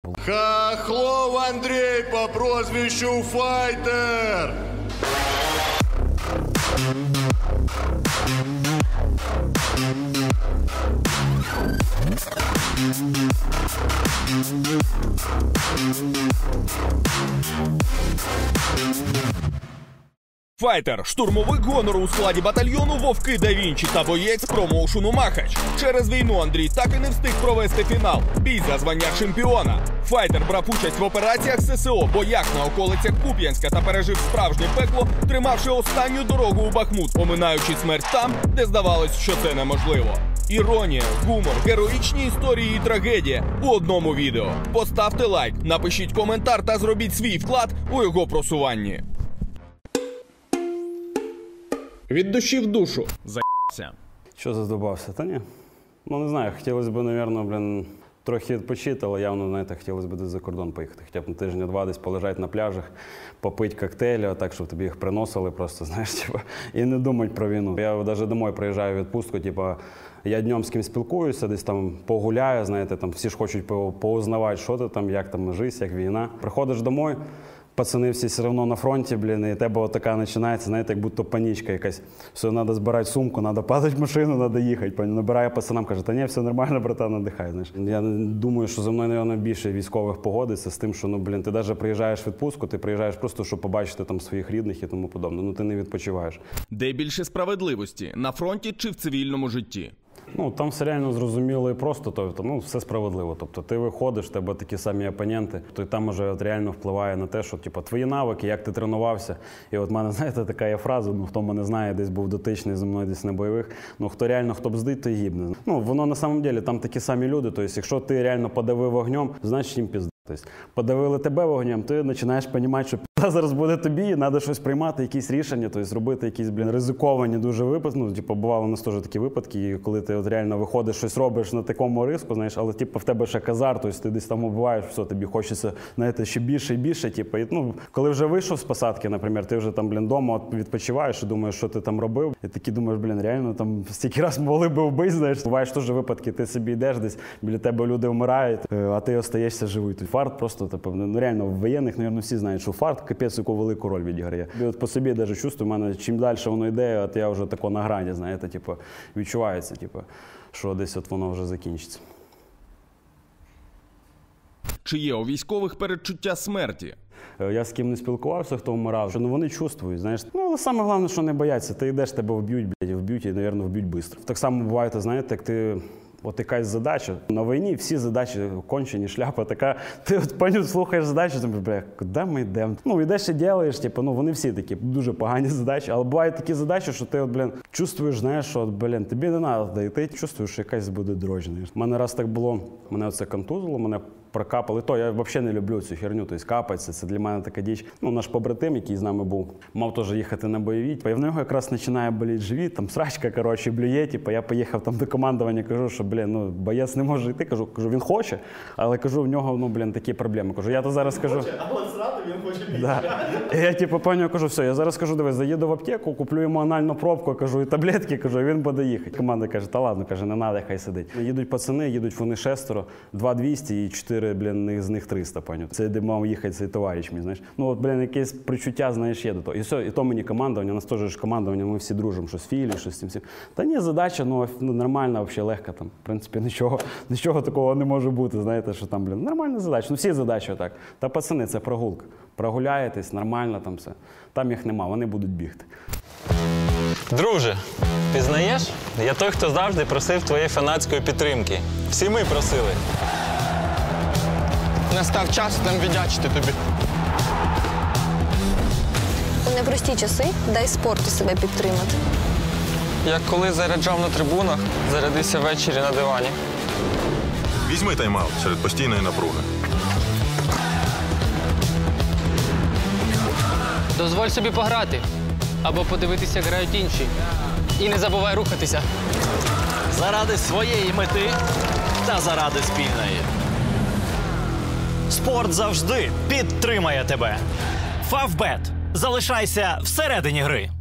Хохлов Андрей по прозвищу Файтер. Файтер – штурмовик гонору у складі батальйону «Вовки да Вінчі» та боєць промоушену «Махач». Через війну Андрій так і не встиг провести фінал – бій за звання чемпіона. Файтер брав участь в операціях ССО, боях на околицях Куп'янська та пережив справжнє пекло, тримавши останню дорогу у Бахмут, оминаючи смерть там, де здавалось, що це неможливо. Іронія, гумор, героїчні історії і трагедія у одному відео. Поставте лайк, напишіть коментар та зробіть свій вклад у його просуванні. Від душі в душу. Заєбся. Що задобався? Та ні. Ну, не знаю, хотілося б, мабуть, трохи відпочити, але явно, знаєте, хотілося б десь за кордон поїхати. Хоча б на тижня-два десь полежати на пляжах, попити коктейлі, так, щоб тобі їх приносили просто, знаєш, типу, і не думати про війну. Я навіть домой приїжджаю в відпустку, типу, я днем з ким спілкуюся, десь там погуляю, знаєте, там всі ж хочуть поузнавати, що ти там, як там життя, як війна. Приходиш домой, пацани всі все одно на фронті, блін, і тебе отака починається, знаєте, як будто панічка якась. Все, треба збирати сумку, треба падати в машину, треба їхати. Набирає пацанам, каже, та ні, все нормально, братан, надихай. Знаєш. Я думаю, що за мною, мабуть, більше військових погодиться з тим, що, ну, блін, ти навіть приїжджаєш в відпустку, ти приїжджаєш просто, щоб побачити там своїх рідних і тому подобне. Ну, ти не відпочиваєш. Де більше справедливості? На фронті чи в цивільному житті? Ну, там все реально зрозуміло і просто, тобто, ну, все справедливо. Тобто, ти виходиш, в тебе такі самі опоненти, то й там уже от реально впливає на те, що, типу, твої навики, як ти тренувався. І от в мене, знаєте, така є фраза, ну, хто мене знає, десь був дотичний зі мною десь на бойових, ну, хто реально, хто бздить, то й гибне. Ну, воно на самом деле, там такі самі люди, тобто, якщо ти реально подавив вогнем, значить їм пізда. Тобто, подавили тебе вогнем, ти починаєш розуміти, що пізда зараз буде тобі, і треба щось приймати, якісь рішення, тобто робити якісь, блін, ризиковані дуже випадки. Ну, типу, бувало у нас теж такі випадки, коли ти от реально виходиш, щось робиш на такому риску, знаєш, але типу, в тебе ще казар, тобто ти десь там убиваєш, все, тобі хочеться, знаєте, ще більше і більше. Типу, і, ну, коли вже вийшов з посадки, наприклад, ти вже там, блін, вдома відпочиваєш і думаєш, що ти там робив, і такі думаєш, блін, реально там стільки раз могли би вбити, знаєш. Буваєш теж випадки, ти собі йдеш десь, біля тебе люди вмирають, а ти остаєшся живий. Фарт просто, типу, ну, реально, в воєнних, мабуть, всі знають, що фарт капець яку велику роль відіграє. І от по собі навіть чувствую, в мене чим далі воно йде, от я вже тако на грані, знаєте, типу, відчувається, типу, що десь от воно вже закінчиться. Чи є у військових передчуття смерті? Я з ким не спілкувався, хто вмирав, що, ну, вони чувствують, знаєш. Ну, але саме головне, що не бояться. Ти йдеш, тебе вб'ють, блядь, вб'ють і, мабуть, вб'ють швидко. Так само буває, знаєте, як ти... От якась задача. На війні всі задачі кончені, шляпа така. Ти от паню слухаєш задачу, думаєш, бля, куди ми йдемо? Ну, йдеш і робиш, типу, ну, вони всі такі дуже погані задачі. Але бувають такі задачі, що ти от, блін, чувствуєш, знаєш, що, от, блін, тобі не треба, і ти чувствуєш, що якась буде дрожь. У мене раз так було, мене оце контузило, мене прокапали. То я взагалі не люблю цю херню, тобто капатися, це для мене така діч. Ну, наш побратим, який з нами був, мав теж їхати на бойові. І в нього якраз починає боліти живіт, там срачка, коротше, блює. Типу, я поїхав там до командування, кажу, що, блін, ну, боєць не може йти. Кажу, він хоче, але кажу, в нього, ну, блін, такі проблеми. Кажу, я то зараз кажу. Але зраду він хоче більше. Да. І я, типу, паню кажу, все, я зараз кажу, дивись, заїду в аптеку, куплю йому анальну пробку, кажу, і таблетки, кажу, і він буде їхати. Команда каже, та ладно, каже, не треба, хай сидить. Їдуть пацани, їдуть вони 6, 2-200 і 4, блін, з них 300, паню. Це де мав їхати цей товариш мій, знаєш. Ну, от, блін, якесь причуття, знаєш, є до того. І все, і то мені командування, у нас теж командування, ми всі дружимо, щось філі, щось з цим всім. Та ні, задача, ну, нормальна, взагалі легка там. В принципі, нічого такого не може бути, знаєте, що там, блін, нормальна задача. Ну, всі задачі отак. Та пацани, це прогулка. Прогуляєтесь, нормально там все. Там їх нема, вони будуть бігти. Друже, пізнаєш? Я той, хто завжди просив твоєї фанатської підтримки. Всі ми просили. Настав час нам віддячити тобі. У непрості часи дай спорту себе підтримати. Як коли заряджав на трибунах, зарядися ввечері на дивані. Візьми тайм-аут серед постійної напруги. Дозволь собі пограти. Або подивитися, як грають інші. І не забувай рухатися. Заради своєї мети та заради спільної. Спорт завжди підтримає тебе. Фавбет. Залишайся всередині гри.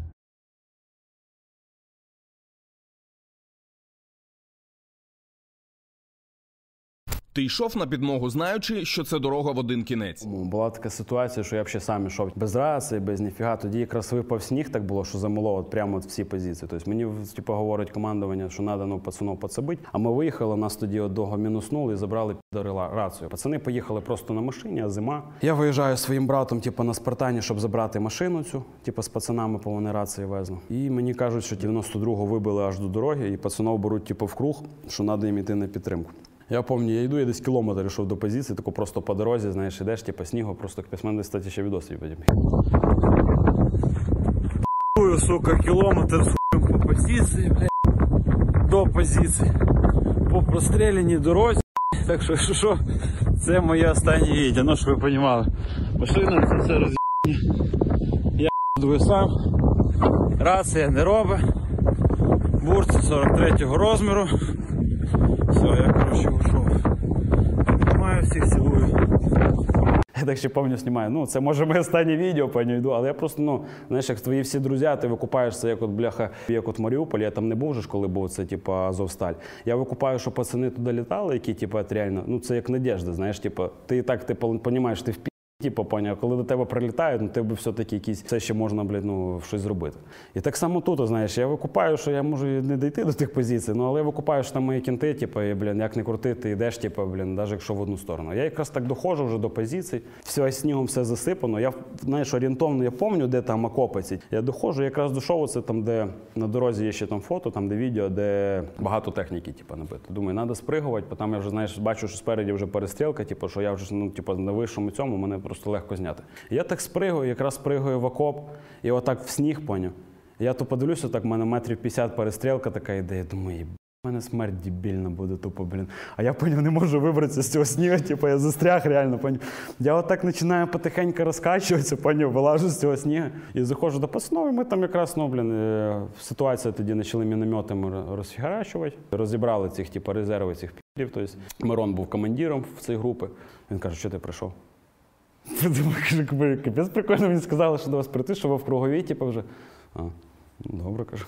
Ти йшов на підмогу, знаючи, що це дорога в один кінець. Була така ситуація, що я взагалі сам йшов без рації, без ніфіга. Тоді якраз випав сніг, так було, що замело от прямо от всі позиції. Тобто мені типу, говорить командування, що треба пацанов підсобити. А ми виїхали, нас тоді одного мінуснули і забрали рацію. Пацани поїхали просто на машині, а зима. Я виїжджаю зі своїм братом типу, на Спартані, щоб забрати машину цю, типу, з пацанами, по вони рації везли. І мені кажуть, що 92-го вибили аж до дороги, і пацанов беруть типу, в круг, що треба їм йти на підтримку. Я пам'ятаю, я йду, я десь кілометр йшов до позиції, тако просто по дорозі, знаєш, ідеш, типу, снігу, просто капець, мене, кстати, ще відос є. Сука, кілометр по позиції, блядь, до позиції, по простріляній дорозі, так що, це моє останнє відео, ну, щоб ви розуміли. Машина, це все роз'єбання, я буду сам, рація не робить, бурці 43-го розміру. Все, я, коротше, ушов. Маю всіх, цілую. Я так ще пам'ятаю, знімаю. Ну, це може моє останнє відео, пані йду, але я просто, ну, знаєш, як твої всі друзі, ти викупаєшся, як от, бляха, як от Маріуполь, я там не був вже, коли був це, типу, Азовсталь. Я викупаю, що пацани туди літали, які, типу, реально, ну, це як надіжда, знаєш, типу, ти і так, ти розумієш, ти в типу, поняв, коли до тебе прилітають, ну, тебе все-таки якісь, все ще можна, блядь, ну, щось зробити. І так само тут, знаєш, я викупаю, що я можу не дійти до тих позицій, ну, але я викупаю, що там мої кінти, типу, і, блін, як не крути, ти йдеш, типу, блін, навіть якщо в одну сторону. Я якраз так доходжу вже до позицій, все снігом все засипано, я, знаєш, орієнтовно, я пам'ятаю, де там окопи ці. Я доходжу, якраз дійшов оце там, де на дорозі є ще там фото, там, де відео, де багато техніки, типу, набито. Думаю, треба спригувати, бо там я вже, знаєш, бачу, що спереді вже перестрілка, типу, що я вже, ну, типу, на вищому цьому, мене просто легко зняти. Я так спригаю, якраз спригаю в окоп, і отак в сніг, поняв. Я то подивлюся, так в мене метрів 50 перестрілка така йде, я думаю, в мене смерть дебільна буде тупо, блін. А я, поняв, не можу вибратися з цього снігу, типу, я застряг реально, поняв. Я отак починаю потихеньку розкачуватися, поняв, вилажу з цього снігу і заходжу до пацанов, і ми там якраз, ну, блін, ситуація тоді почали мінометами розфігарачувати. Розібрали цих, типу, резерви цих пі***ів, тобто Мирон був командиром в цій групі. Він каже, що ти прийшов? Капець прикольно, мені сказали, що до вас прийти, що ви в круговій, типу, вже. А, добре, кажу.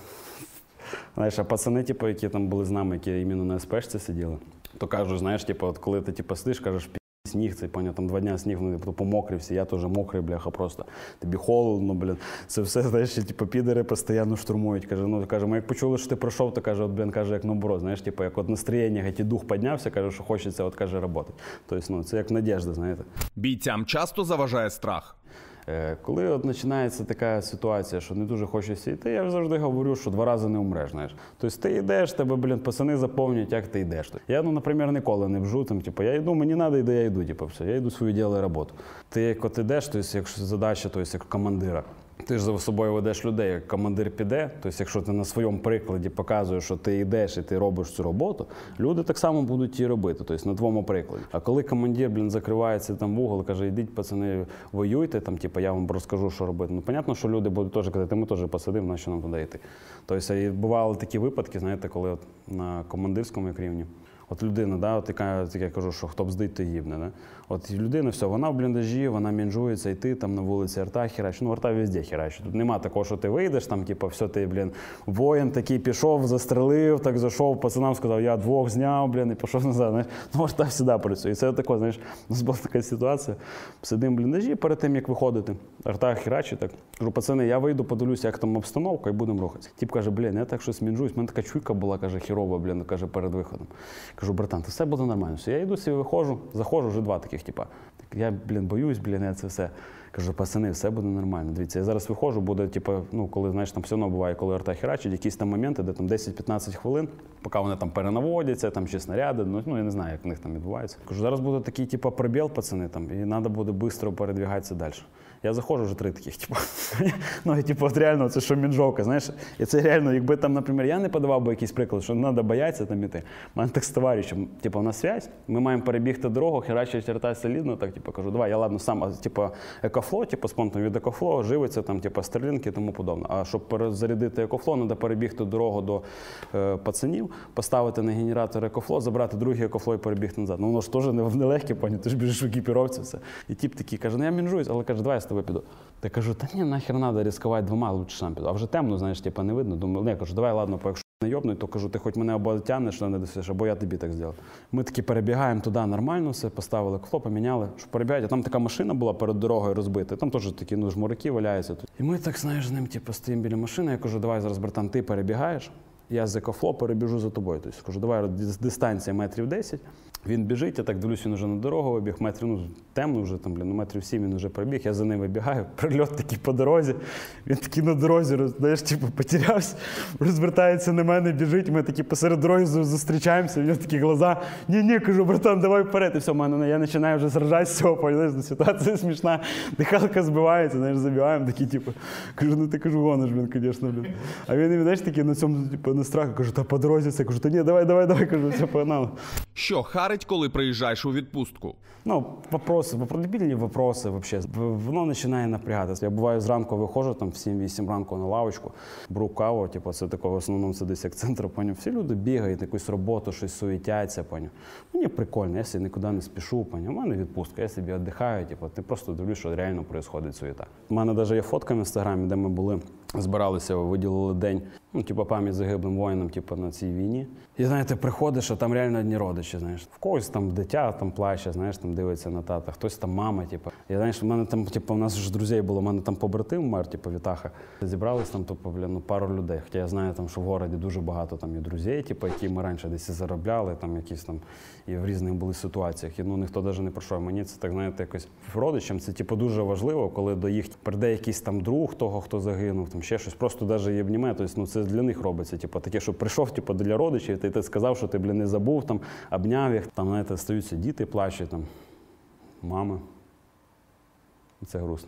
Знаєш, а пацани, типу, які там були з нами, які іменно на СПшці сиділи, то кажуть, знаєш, типу, от коли ти типу, сидиш, кажеш, сніг, цей, поняв, там 2 дня сніг, ну, помокрий всі, я теж мокрий, бляха, просто. Тобі холодно, блін. Це все, знаєш, типу, підери постійно штурмують. Каже, ну, каже, ми як почули, що ти пройшов, то каже, от, блін, каже, як наоборот, знаєш, типу, як от настроєння, як і дух піднявся, каже, що хочеться, от, каже, роботи. Тобто, ну, це як надіжда, знаєте. Бійцям часто заважає страх. Коли от починається така ситуація, що не дуже хочеться йти, я завжди говорю, що 2 рази не умреш, знаєш. Тобто ти йдеш, тебе, блін, пацани заповнюють, як ти йдеш. Я, ну, наприклад, ніколи не бжу, там, типу, я йду, мені треба, йде, я йду, типу, все, я йду свою ділаю роботу. Ти як от йдеш, тобто, якщо задача, тобто, як командира, ти ж за собою ведеш людей, як командир піде, тобто, якщо ти на своєму прикладі показуєш, що ти йдеш і ти робиш цю роботу, люди так само будуть її робити, тобто, на твоєму прикладі. А коли командир, блін, закривається там в угол, каже, йдіть, пацани, воюйте, там, типу, я вам розкажу, що робити. Ну, понятно, що люди будуть теж казати, ми теж посидимо, на що нам туди йти. Тобто, і бували такі випадки, знаєте, коли от на командирському рівні, от людина, да, от я кажу, що хто бздить, то гибне. Да? От людина, все, вона в бліндажі, вона мінжується, і ти там на вулиці арта херачить. Ну, арта везде херачить. Тут нема такого, що ти вийдеш, там, типу, все, ти, блін, воїн такий пішов, застрелив, так зайшов, пацанам сказав, я 2 зняв, блін, і пішов назад. Знаєш? Ну, арта завжди працює. І це таке, знаєш, у нас була така ситуація. Сидимо в бліндажі, перед тим, як виходити, арта херачить, так. Кажу, пацани, я вийду, подивлюся, як там обстановка, і будемо рухатися. Тип каже, блін, я так щось мінжуюсь, в мене така чуйка була, каже, херова, блін, каже, перед виходом. Кажу, братан, то все буде нормально. Все, я йду, собі виходжу, заходжу, вже 2 таких, типа. Я, блін, боюсь, блін, я це все. Кажу, пацани, все буде нормально. Дивіться, я зараз виходжу, буде, типу, ну, коли, знаєш, там все одно буває, коли арта херачить, якісь там моменти, де там 10-15 хвилин, поки вони там перенаводяться, там ще снаряди, ну, я не знаю, як в них там відбувається. Кажу, зараз буде такий, типу, пробіл, пацани, там, і треба буде швидко передвигатися далі. Я заходжу, вже 3 таких, типу, ну, і, типу, от реально, це що мінжовка, знаєш, і це реально, якби там, наприклад, я не подавав би якийсь приклад, що не треба боятися там іти. У мене так з товаришем, типу, на связь, ми маємо перебігти дорогу, херачить арта солідно, так, типу, кажу, давай, я, ладно, сам, типу, екофло, типу, спонтом від екофло, живиться, там, типу, стрілінки і тому подобне. А щоб перезарядити екофло, треба перебігти дорогу до пацанів, поставити на генератор екофло, забрати другий екофло і перебігти назад. Ну, воно ж теж нелегке, поняв, ти ж біжиш в екіпіровці, все. І тип такий каже, ну, я мінжуюсь, але каже, давай я з тобою піду. Та кажу, та ні, нахер треба ризикувати 2, лучше сам піду. А вже темно, знаєш, типу, не видно. Думаю, не, кажу, давай, ладно, якщо не йобнуть, то кажу, ти хоч мене або тягнеш, не досиш, або я тобі так зроблю. Ми таки перебігаємо туди нормально все, поставили кло, поміняли, що перебігають. А там така машина була перед дорогою розбита, там теж такі жмурики валяються тут. І ми так, знаєш, з ним стоїмо біля машини, я кажу, давай зараз, братан, ти перебігаєш, я з екофло перебіжу за тобою. Тобто, кажу, давай, дистанція метрів 10. Він біжить, я так дивлюсь, він вже на дорогу вибіг, метрів, темно вже, там, метрів 7 він вже прибіг, я за ним вибігаю, прильот такий по дорозі, він такий на дорозі, знаєш, потерявся, розвертається на мене, біжить, ми такі посеред дороги зустрічаємося, в нього такі глаза, ні, кажу, братан, давай вперед, і все, я починаю вже сражати з цього, знаєш, ситуація смішна, дихалка збивається, знаєш, забігаємо, такі, кажу, ти, гониш, звісно, а він, знаєш, такий на цьому, на страху, кажу, та по дорозі це, кажу, та ні, давай, кажу, все, погнали. Що харить, коли приїжджаєш у відпустку? Дебільні вопроси, взагалі. Воно починає напрягатися. Я буваю зранку виходжу, там в 7-8 ранку на лавочку, беру каву, це такого, в основному це десь як центр, поняв. Всі люди бігають, якусь роботу, щось суетяться, поняв. Мені прикольно, я собі нікуди не спішу, поняв. У мене відпустка, я собі віддихаю, ти просто дивлюсь, що реально відбувається суєта. У мене навіть є фотка в інстаграмі, де ми були, збиралися, виділили день, пам'ять загиблим воїнам, на цій війні. І, знаєте, приходиш, а там реально одні родичі, знаєш. В когось там дитя там плаче, знаєш, там дивиться на тата, хтось там мама, Я, знаєш, у мене там, у нас ж друзей було, у мене там побратим вмер, Вітаха. Зібрались там, пару людей. Хоча я знаю, там, що в городі дуже багато там і друзей, які ми раніше десь і заробляли, там якісь там, і в різних були ситуаціях. І, ніхто навіть не пройшов. Мені це, так, знаєте, якось родичам це, дуже важливо, коли до їх прийде якийсь там друг того, хто загинув, там ще щось, просто навіть і обніме. Тобто, це для них робиться, таке, що прийшов, для родичів, ти сказав, що ти, не забув, там, обняв їх, там, знаєте, стаються діти, плачуть, там, мами. І це грустно.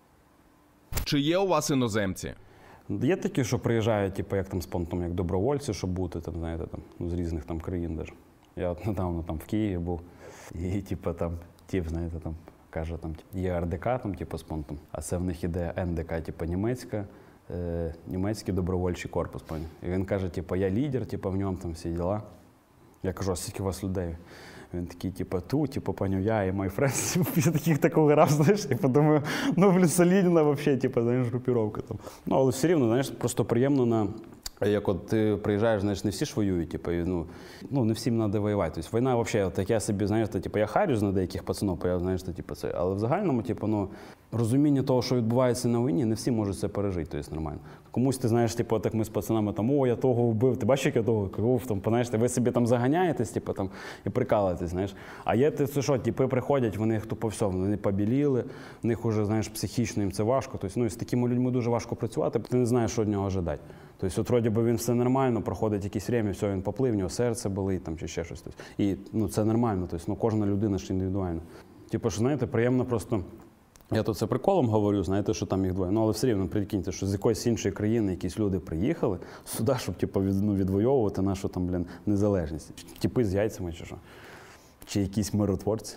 Чи є у вас іноземці? Є такі, що приїжджають, як там спонтом, як добровольці, щоб бути, там, знаєте, там, з різних там країн даже. Я от недавно там в Києві був, і там, знаєте, там, каже, там, є РДК, там, спонтом, а це в них іде НДК, німецька, німецький добровольчий корпус, поняв. І він каже, я лідер, в ньому там всі діла. Я кажу, а скільки у вас людей? Він такий, поняв, я і мій френд, після такого грав, знаєш, я подумаю, солідна взагалі, знаєш, групіровка там. Але все рівно, знаєш, просто приємно як от ти приїжджаєш, знаєш, не всі ж воюють, не всім треба воювати. Тобто війна взагалі, так я собі, знаєш, я харюсь на деяких пацанов, знаєш, це, але в загальному, розуміння того, що відбувається на війні, не всі можуть це пережити, тобто нормально. Комусь ти, знаєш, так ми з пацанами, я того вбив, ти бачиш, як я того вбив, знаєш, ви собі там заганяєтесь, і прикалуєтесь, знаєш. А є це що, приходять, вони тупо все, вони побіліли, в них вже, знаєш, психічно їм це важко, тобто, з такими людьми дуже важко працювати, ти не знаєш, що від нього ожидати. Тобто, от, вроді би, він все нормально, проходить якесь время, все, він поплив, в нього серце болить, там, чи ще щось. Тобто, і, це нормально, тобто, кожна людина ж індивідуальна. Що, знаєте, приємно просто, я тут це приколом говорю, знаєте, що там їх двоє, але все рівно, прикиньте, що з якоїсь іншої країни якісь люди приїхали сюди, щоб, відвоювати нашу, там, незалежність. Тіпи з яйцями, чи що? Чи якісь миротворці.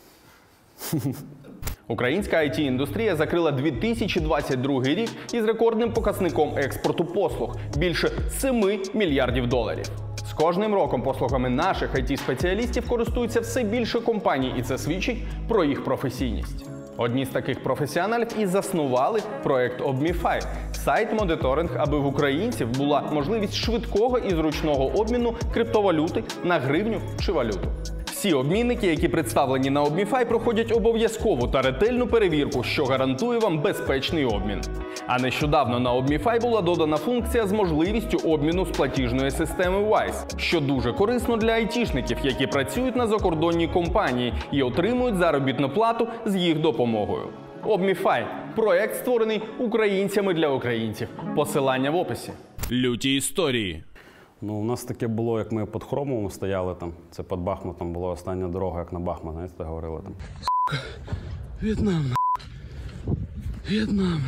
Українська IT-індустрія закрила 2022 рік із рекордним показником експорту послуг – більше 7 мільярдів доларів. З кожним роком послугами наших IT-спеціалістів користуються все більше компаній, і це свідчить про їх професійність. Одні з таких професіоналів і заснували проект ObMeFi – сайт-моніторинг, аби в українців була можливість швидкого і зручного обміну криптовалюти на гривню чи валюту. Всі обмінники, які представлені на ObMeFi, проходять обов'язкову та ретельну перевірку, що гарантує вам безпечний обмін. А нещодавно на ObMeFi була додана функція з можливістю обміну з платіжної системи Wise, що дуже корисно для айтішників, які працюють на закордонній компанії і отримують заробітну плату з їх допомогою. ObMeFi – проект, створений українцями для українців. Посилання в описі. Люті історії. У нас таке було, як ми під Хромовом стояли, там, це під Бахмутом була остання дорога, як на Бахмут, знаєте, говорили там. Сука, В'єтнам, В'єтнам,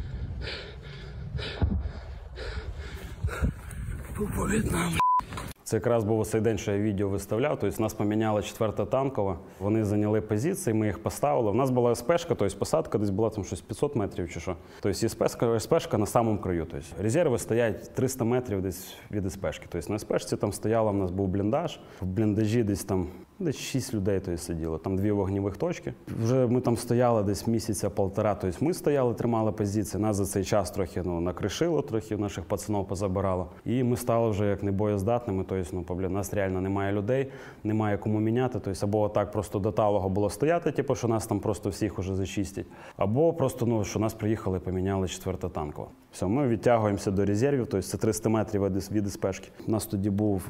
Тупо В'єтнам. Це якраз був цей день, що я відео виставляв, тобто нас поміняла 4-та танкова, вони зайняли позиції, ми їх поставили. У нас була СПшка, тобто посадка десь була там щось 500 метрів чи що. Тобто СПшка на самому краю. Тобто резерви стоять 300 метрів десь від СПшки. Тобто на СПшці там стояла, у нас був бліндаж, в бліндажі десь там Десь 6 людей сиділо, там 2 вогневих точки. Вже ми там стояли десь місяця-півтора, тобто ми стояли, тримали позиції, нас за цей час трохи накришило, трохи наших пацанів позабирало. І ми стали вже як небоєздатними, тобто, у нас реально немає людей, немає кому міняти, тобто або так просто до талого було стояти, типу, що нас там просто всіх уже зачистять, або просто, що нас приїхали і поміняли 4-та танкова. Все, ми відтягуємося до резервів, тобто це 300 метрів від СПшки. У нас тоді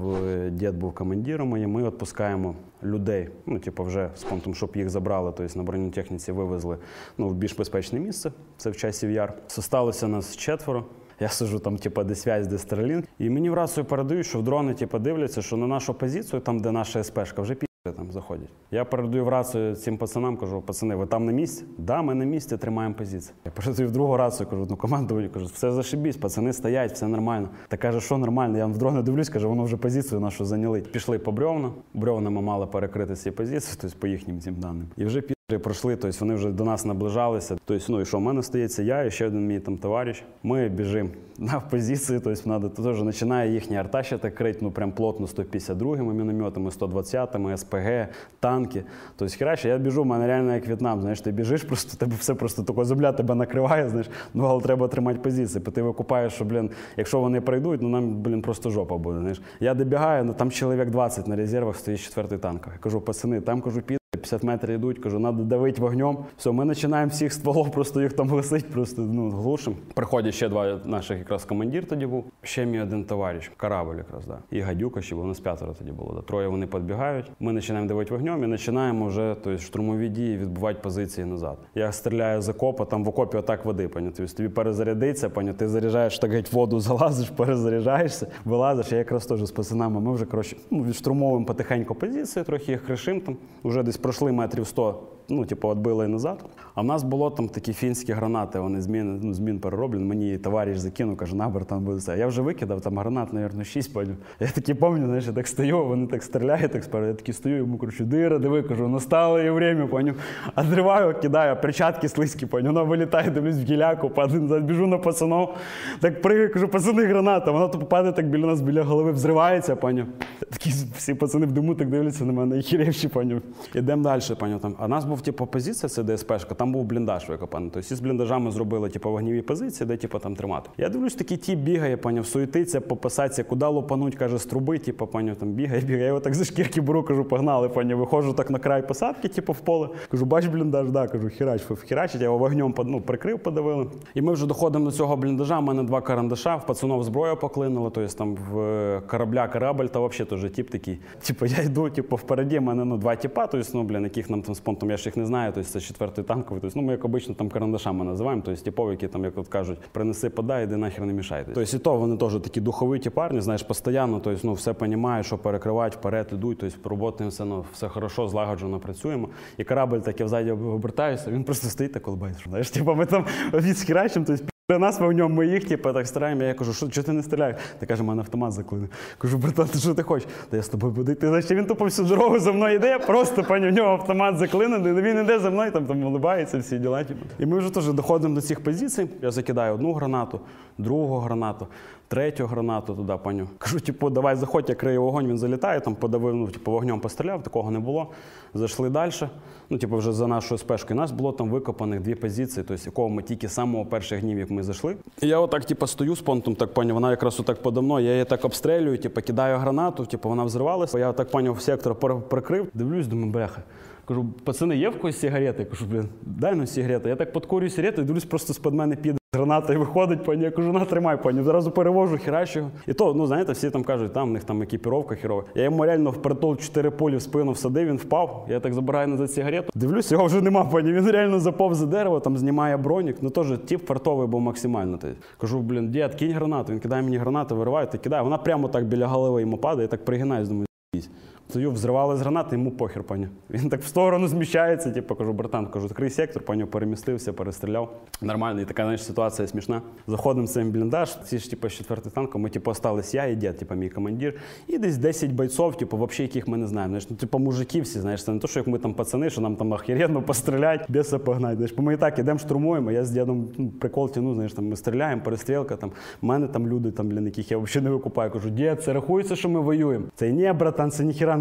дід був командиром, і ми відпускаємо людей, вже з понтом, щоб їх забрали, тобто на бронетехніці вивезли в більш безпечне місце, це в Часів Яр. Зосталося нас 4. Я сиджу там, де связь, де Starlink, і мені в рацію передають, що в дрони дивляться, що на нашу позицію, там, де наша СПшка, вже там заходять. Я передаю в рацію цим пацанам, кажу: пацани, ви там на місці? Да, ми на місці, тримаємо позицію. Я передаю в другу рацію, кажу: командувальник, кажу: все зашибісь, пацани стоять, все нормально. Та каже: що нормально? Я в дрони дивлюсь, каже: воно вже позицію нашу зайняли. Пішли по бревна, бревнами мали перекрити ці позиції, тобто по їхнім цим даним. І вже пройшли, тобто вони вже до нас наближалися. Тобто, і що, в мене стається я і ще один мій там товариш. Ми біжимо на позиції, тобто теж починає їхня арта ще так крити, прям плотно 152-ми мінометами, 120-ми, СПГ, танки. Тобто, хераче, я біжу, в мене реально як В'єтнам, знаєш, ти біжиш, просто тебе все просто тако земля тебе накриває, знаєш, але треба тримати позиції, бо ти викупаєш, що, якщо вони пройдуть, нам, просто жопа буде, знаєш. Я добігаю, там чоловік 20 на резервах стоїть 4-й танк. Я кажу: пацани, там, кажу, 50 метрів йдуть, кажу, треба давити вогнем. Все, ми починаємо всіх стволов, просто їх там висить, просто глушимо. Приходять ще 2 наших, якраз командир тоді був, ще мій один товариш, корабль якраз, да. І Гадюка ще був, у нас 5 тоді було, да. 3 вони підбігають, ми починаємо давити вогнем і починаємо вже, штурмові дії, відбувати позиції назад. Я стріляю з окопа, там в окопі отак води, тобто тобі перезарядиться, ти заряджаєш, так геть воду залазиш, перезаряджаєшся, вилазиш, я якраз теж з пацанами, ми вже, відштурмовуємо потихеньку позиції, трохи їх кришимо там, вже десь пройшли метрів 100, відбили назад. А в нас було там такі фінські гранати, вони змін перероблені. Мені товариш закинув, каже: набер, там буде все. Я вже викидав, там гранат, мабуть, 6, поняв. Я такий пам'ятаю, знаєш, я так стою, вони так стріляють, так спереду. Я такий стою, йому кажу: диви, кажу, настало її время, поняв. Отриваю, кидаю, перчатки слизькі, поняв. Вона вилітає, дивлюсь в гіляку, падаю, біжу на пацанов, так пригаю, кажу: пацани, граната. Вона то падає так біля нас, біля голови, взривається, поняв. Такі всі пацани в диму так дивляться на мене, і хіревші, поняв. Ідемо далі, поняв. А нас був позиція, це ДСПшка, там був бліндаж викопаний. Тобто з бліндажами зробили вогневі позиції, де там тримати. Я дивлюсь, такий тіп бігає, поняв, суетиться по посадці, куди лупануть, каже, з труби, поняв, там бігає. Я його так за шкірки беру, кажу: погнали, поняв, виходжу так на край посадки, в поле. Кажу: бач бліндаж, да, кажу, херачить, я його вогнем прикрив, подавили. І ми вже доходимо до цього бліндажа, в мене 2 карандаша, в пацанов зброя поклинила, тобто там в корабль, та взагалі теж тіп такий. Я йду, впереді, в мене 2 тіпа, тобто, яких нам там з понтом, я ж їх не знаю, тобто це 4-й танковий, тобто, ми як обично там карандашами називаємо, тобто типов, які там, як от кажуть, принеси, подай, іди нахер не мішай. Тобто і то вони теж такі духовиті парні, знаєш, постійно, тобто, все розуміють, що перекривають, вперед ідуть, тобто роботи все хорошо, злагоджено працюємо. І корабль так, я взаді обертаюся, він просто стоїть та колбається, знаєш, ми там відсхерачимо, тобто при нас ми в ньому, ми їх, так стараємо. Я кажу: що ти не стріляєш? Та каже: мене автомат заклинив. Кажу: братан, ти що ти хочеш? Та я з тобою буду йти. Значить, він тупо всю дорогу за мною йде, просто, в нього автомат заклинений, він йде за мною, там улибається, всі діла. І ми вже теж доходимо до цих позицій. Я закидаю 1 гранату, 2 гранату, 3 гранату туди, паню. Кажу: давай заходь, я крию вогонь, він залітає, там подавив, вогнем постріляв, такого не було. Зайшли далі, вже за нашою спешкою. У нас було там викопаних 2 позиції, тобто якого ми тільки з самого перших днів, як ми зайшли. І я отак, стою з понтом, так, пані, вона якраз отак подо мною, я її так обстрілюю, кидаю гранату, вона взривалася. Я отак, пані, в сектор прикрив, дивлюсь, думаю, бляха. Кажу: пацани, є в когось сигарети? Кажу: дай сигарети. Я так підкурюю сигарету і дивлюсь, просто з-під мене піде граната і виходить, пані. Я кажу: на, тримай, пані. Зразу перевожу, херачу його. І то, знаєте, всі там кажуть, там в них там екіпіровка херова. Я йому реально впритул 4 пулі в спину всадив, він впав. Я так забираю назад сигарету. Дивлюсь, його вже нема, пані. Він реально заповз за дерево, там знімає бронік. Теж тип фартовий був максимально. Кажу: дід, кинь гранату. Він кидає мені гранату, вириває, та кидає. Вона прямо так біля голови йому падає, я так пригинаюсь, думаю, стою, взривали з гранати, йому похер, пані. Він так в сторону зміщається, кажу: братан, відкрий сектор, пані, перемістився, перестріляв. Нормально, і така, знаєш, ситуація смішна. Заходимо в цей бліндаж, ці ж, з 4-й танком, ми, остались я і дід, мій командир, і десь 10 бойців, взагалі, яких ми не знаємо. Знаєш, мужики всі, знаєш, це не то, що як ми там пацани, що нам там охеренно пострілять, біса погнать. Знаєш, ми і так ідемо, штурмуємо, я з дідом прикол тяну, знаєш, там ми стріляємо, перестрілка, там, в мене там люди, там, яких я взагалі не викупаю. Кажу: дід, це рахується, що ми воюємо? Це ні, братан, це ніхіра не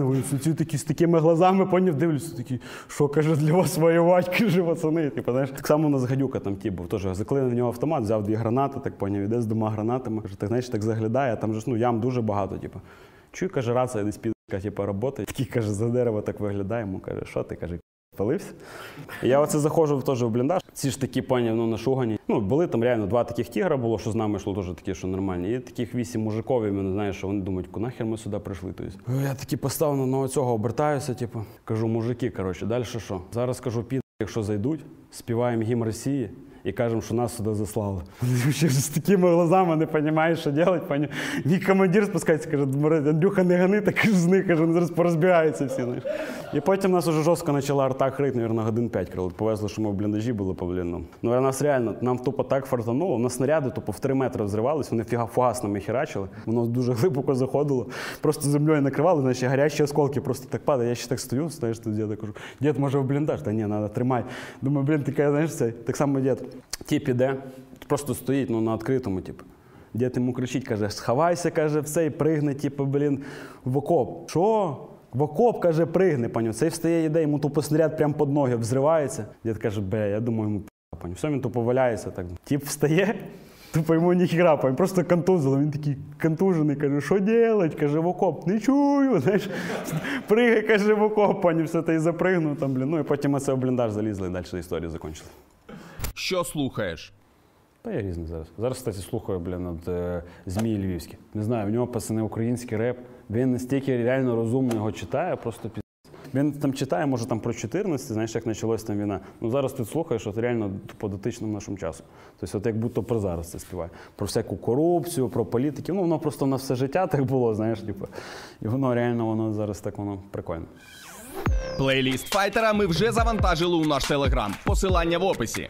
мене, вони ці такі з такими глазами, поняв, дивлюся, такі, що, каже, для вас воювати, каже, пацани. Типу, знаєш, так само у нас гадюка там ті був, теж заклеїв на нього автомат, взяв 2 гранати, так поняв, іде з 2 гранатами, каже, так, знаєш, так заглядає, там же, ну, ям дуже багато, типу. Чую, каже, рація десь підка, типу, роботи, такий, каже, за дерево так виглядає, йому каже, що ти, каже, палився. І я оце заходжу теж в бліндаж, ці ж такі, поняв, ну, нашугані. Ну, були там реально 2 таких тігра було, що з нами йшло теж такі, що нормальні. І таких 8 мужиків, і мене, знаєш, що вони думають, нахер ми сюди прийшли. Тобто, я таки поставив на цього, обертаюся, типу, кажу, мужики, коротше, далі що? Зараз, кажу, якщо зайдуть, співаємо гімн Росії і кажемо, що нас сюди заслали. З такими глазами не розумієш, що робити. Мій командир спускається, каже, Андрюха, не гани, так з них, каже, вони зараз порозбігаються всі. Знаєш. І потім нас уже жорстко почала арта крити, мабуть, годин 5 крили. Повезло, що ми в бліндажі були по-блінному. Ну, а нас реально, нам тупо так фартануло, у нас снаряди тупо в 3 метри взривались, вони фугасними херачили, воно дуже глибоко заходило, просто землею накривали, знаєш, гарячі осколки просто так падають. Я ще так стою, знаєш, тут діда кажу, дід, може в бліндаж? Та ні, треба, тримай. Думаю, блін, така, знаєш, це, так само дід. Тіп іде, просто стоїть, ну, на відкритому, типу. Дід йому кричить, каже, сховайся, каже, все, і пригне, типу, блін, в окоп. Що? В окоп, каже, пригне, паню. Цей встає, йде, йому тупо снаряд прямо під ноги взривається. Дід каже, бля, я думаю, йому паню. Все, він тупо валяється так. Тіп встає, тупо йому ніхіра, паню, просто контузило. Він такий контужений, каже, що делать? Каже, в окоп. Не чую, знаєш. Пригай, каже, в окоп, паню, все, та й запригнув там, блін. Ну, і потім ми це в бліндаж залізли, і далі історія закінчила. Що слухаєш? Та я різний зараз. Зараз, кстати, слухаю, блін, от Змій Львівський. Не знаю, в нього, пацани, український реп. Він настільки реально розумно його читає, просто піздець. Він там читає, може, там про 14, знаєш, як почалась там війна. Ну, зараз ти слухаєш, от реально по дотичному нашому часу. Тобто, от як будто про зараз це співає. Про всяку корупцію, про політиків. Ну, воно просто на все життя так було, знаєш, типу. І воно реально, воно зараз так, воно прикольно. Плейліст Файтера ми вже завантажили у наш телеграм. Посилання в описі.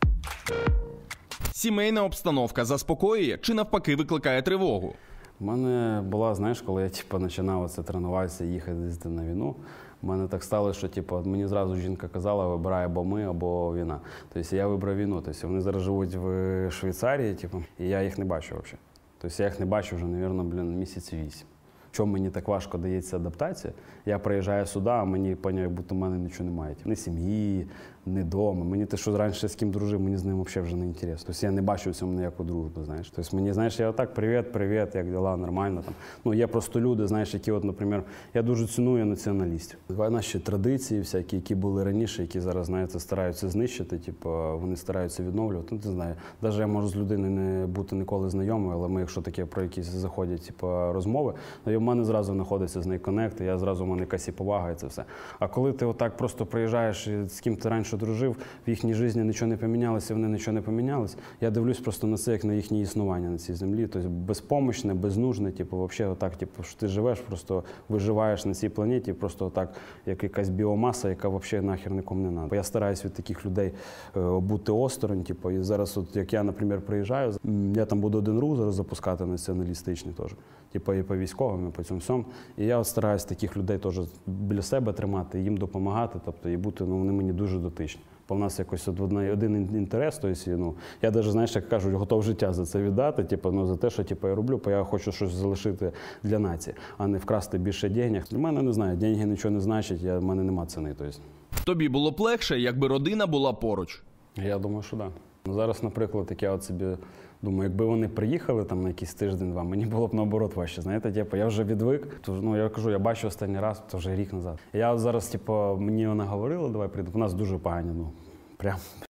Сімейна обстановка заспокоює чи навпаки викликає тривогу? У мене була, знаєш, коли я починав оце тренуватися, їхати на війну, у мене так сталося, що мені зразу жінка казала, вибирай або ми, або війна. Тобто я вибрав війну. Тобто вони зараз живуть в Швейцарії, і я їх не бачу взагалі. Тобто я їх не бачу вже, мабуть, місяців 8. Чому мені так важко дається адаптація? Я приїжджаю сюди, а мені, як будто в мене нічого немає. Ні сім'ї, ні дому. Мені те, що раніше з ким дружив, мені з ним взагалі вже не інтересно. Тобто я не бачу в цьому ніяку дружбу, знаєш. Тобто мені, знаєш, я отак, привіт, як діла, нормально. Там. Ну, є просто люди, знаєш, які, от, наприклад, я дуже ціную націоналістів. Наші традиції всякі, які були раніше, які зараз, знаєте, стараються знищити, вони стараються відновлювати. Ну, ти знаєш, навіть я можу з людиною не бути ніколи знайомою, але ми, якщо таке про якісь заходять, розмови, в мене зразу знаходиться з нею коннект, я зразу в мене якась і повага, і це все. А коли ти отак просто приїжджаєш, і з ким ти раніше дружив, в їхній житті нічого не помінялося, вони нічого не помінялись, я дивлюсь просто на це, як на їхнє існування на цій землі. Тобто безпомощне, безнужне, взагалі отак, що ти живеш, просто виживаєш на цій планеті, просто отак, як якась біомаса, яка взагалі нахер нікому не треба. Я стараюсь від таких людей бути осторонь, і зараз, от, як я, наприклад, приїжджаю, я там буду один рух зараз запускати націоналістичний теж. І по військовим, і по цьому всьому. І я от стараюсь таких людей теж біля себе тримати, їм допомагати, тобто, і бути, вони мені дуже дотичні. Бо в нас якось один інтерес, тобто, я навіть, знаєш, як кажуть, готов життя за це віддати, за те, що я роблю, бо я хочу щось залишити для нації, а не вкрасти більше денег. Для мене, не знаю, деньги нічого не значать, в мене нема ціни. Тобто. Тобі було б легше, якби родина була поруч? Я думаю, що так. Да. Зараз, наприклад, я от собі думаю, якби вони приїхали там на якийсь тиждень-два, мені було б наоборот важче. Знаєте, я вже відвик, я кажу, я бачу останній раз, це вже рік назад. Я от зараз, мені вона говорила, давай прийду, у нас дуже погані, прям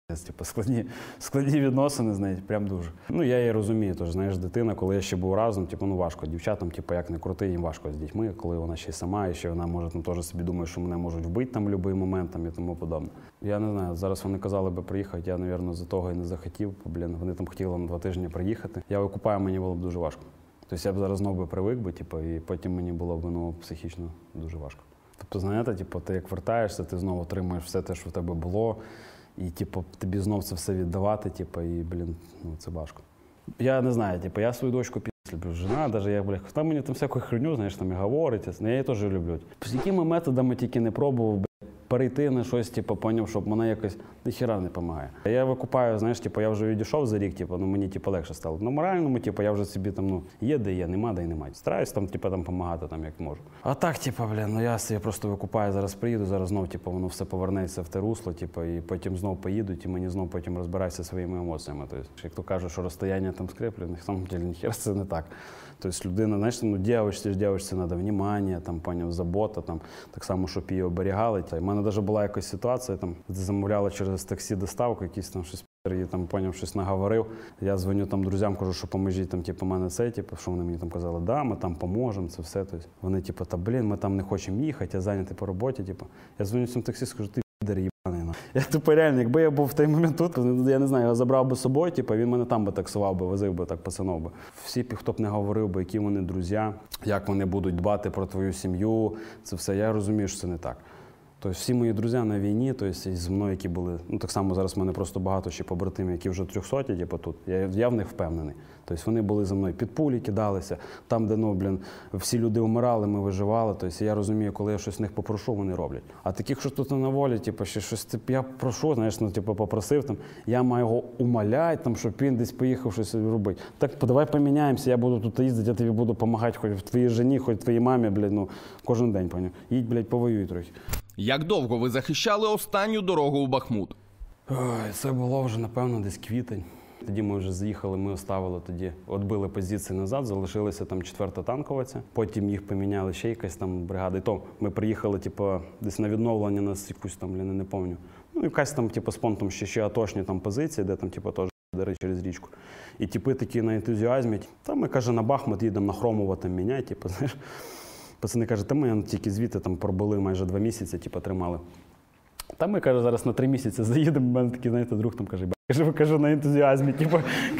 складні відносини з нею, прям дуже. Я її розумію, тож, знаєш, дитина, коли я ще був разом, важко дівчатам, як не крути, їм важко з дітьми, коли вона ще й сама, і ще вона може теж собі думає, що мене можуть вбити там в будь-який момент і тому подобне. Я не знаю, зараз вони казали би приїхати, я, мабуть, за того і не захотів, вони там хотіли на 2 тижні приїхати. Я викупаю, мені було б дуже важко. Тобто я б зараз знову привик би, і потім мені було б психічно дуже важко. Тобто, знаєте, ти як вертаєшся, ти знову отримуєш все те, що в тебе було, і тобі знов це все віддавати, і, це важко. Я не знаю, я свою дочку люблю, жена, навіть хто мені там всяку херню, знаєш, там і говорить, я її теж люблю. З якими методами тільки не пробував, перейти на щось, типу, поняв, щоб мене якось ніхіра не допомагає. Я викупаю, знаєш, типу, я вже відійшов за рік, типу, ну мені типу, легше стало. На моральному, типу, я вже собі там, ну, є де є, нема де й немає. Стараюсь там, типу, там допомагати, там, як можу. А так, типу, блін, ну я собі просто викупаю, зараз приїду, зараз знов, типу, воно все повернеться в те русло, типу, і потім знов поїдуть, і мені знов потім розбираюся своїми емоціями. Тобто, як то кажуть, що розстояння там скріплено, на самом деле, ніхера це не так. Тобто людина, знаєш, ну, дівчинці треба внимання, там, поняв, забота, там, так само, щоб її оберігали. У мене навіть була якась ситуація, там, замовляли через таксі доставку, якісь там щось, і там, поняв, щось наговорив. Я дзвоню там друзям, кажу, що поможіть, там, типу, мене це, типу, що вони мені там казали, да, ми там поможемо, це все. Тобто, вони, типу, та, блін, ми там не хочемо їхати, я зайнятий по роботі, типу. Я дзвоню цьому таксисту, кажу, ти підер їбаний. Я тупо реально, якби я був в той момент тут, я не знаю, його забрав би з собою, типу, він мене там би таксував би, возив би, так пацанов би. Всі, хто б не говорив би, які вони друзі, як вони будуть дбати про твою сім'ю, це все, я розумію, що це не так. Тобто всі мої друзі на війні, тобто з мною, які були, ну так само зараз в мене просто багато ще побратимів, які вже 300, типу, тут, я в них впевнений. Тобто вони були за мною, під пулі кидалися, там, де, ну, блін, всі люди вмирали, ми виживали, тобто я розумію, коли я щось в них попрошу, вони роблять. А таких, що тут на волі, типу, ще щось, я прошу, знаєш, ну, типу, попросив, там, я маю його умоляти, там, щоб він десь поїхав щось робити. Так, давай поміняємося, я буду тут їздити, я тобі буду допомагати, хоч твоїй жені, хоч твоїй мамі, блядь, ну, кожен день, поняв. Їдь, блядь, повоюй трохи. Як довго ви захищали останню дорогу у Бахмут? Ой, це було вже, напевно, десь квітень. Тоді ми вже заїхали, ми оставили тоді, відбили позиції назад, залишилася там 4-та танковиця. Потім їх поміняли ще якась там бригада. І то ми приїхали, типу, десь на відновлення нас якусь там, не пам'ятаю. Ну, якась там, типу, з понтом ще атошні там позиції, де там, типу, теж дари через річку. І типи такі на ентузіазмі. Та ми, каже, на Бахмут їдемо на Хромово там міняти, типу, знаєш. Пацани кажуть, та ми тільки звідти там пробули майже 2 місяці, типу, тримали. Та ми, каже, зараз на 3 місяці заїдемо, у мене такий, знаєте, друг там каже, ви, каже, на ентузіазмі, типу,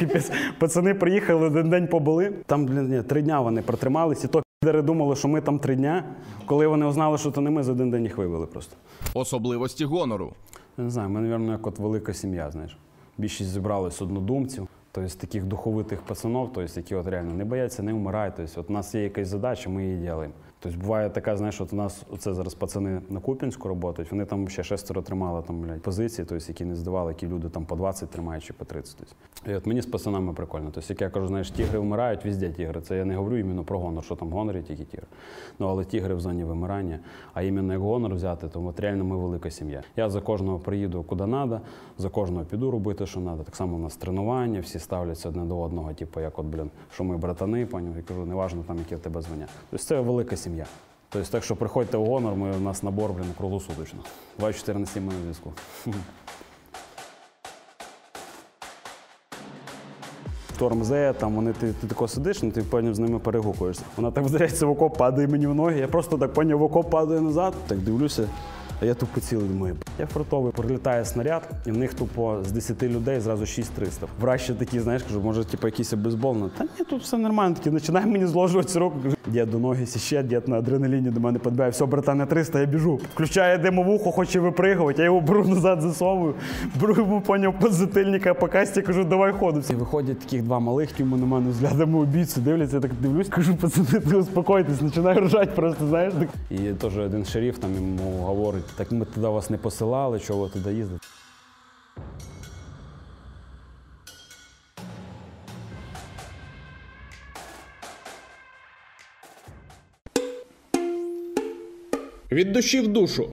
пацани приїхали, один день побули. Там, блін, 3 дня вони протрималися, і то підери думали, що ми там 3 дня, коли вони узнали, що то не ми, за один день їх вивели просто. Особливості гонору. Я не знаю, ми, мабуть, як от велика сім'я, знаєш. Більшість зібралось однодумців, тобто таких духовитих пацанов, тобто, які от реально не бояться, не вмирають. Тобто, от у нас є якась задача, ми її робимо. Тобто буває така, знаєш, от у нас оце зараз пацани на Куп'янську працюють, вони там ще 6 тримали там, блядь, позиції, тобто, які не здавали, які люди там по 20 тримають чи по 30. Тобто. І от мені з пацанами прикольно. Тобто, як я кажу, знаєш, тігри вмирають, везде тігри. Це я не говорю іменно про гонор, що там в гонорі тільки тігри. Ну, але тігри в зоні вимирання. А іменно як гонор взяти, то от реально ми велика сім'я. Я за кожного приїду куди треба, за кожного піду робити, що треба. Так само у нас тренування, всі ставляться одне до одного, типу, як от, блін, що ми братани, поняв, я кажу, неважно там, яке в тебе звання. Тобто це велика сім'я. Тобто, так що приходьте в гонор, у нас набор, блін, круглосуточно. 24 на 7 ми на зв'язку. Тормзе, там вони, ти тако сидиш, ну ти поняв, з ними перегукуєшся. Вона так вдаряється в окоп, падає мені в ноги, я просто так поняв, в окоп падаю назад, так дивлюся, а я тупо цілий, думаю, я фронтовий, прилітає снаряд, і в них тупо з 10 людей зразу 6300. Врач ще такий, знаєш, кажу, може, типу, якийсь бейсбол, та ні, тут все нормально, такий, починає мені зложувати руку, кажу, дід до ноги сіще, дід на адреналіні до мене підбиває, все, братане, 300, я біжу. Включає димовуху, хоче випригувати, я його беру назад, засовую, беру йому, поняв, подзатильника по касті, кажу, давай ходу. І виходять таких 2 малих, тюми на мене взглядами убійцю, дивляться, я так дивлюсь, кажу, пацани, успокойтесь, починаю ржати просто, знаєш. І теж один шериф там йому говорить, так ми туди вас не посилали, чого ви туди їздите. Від душі в душу.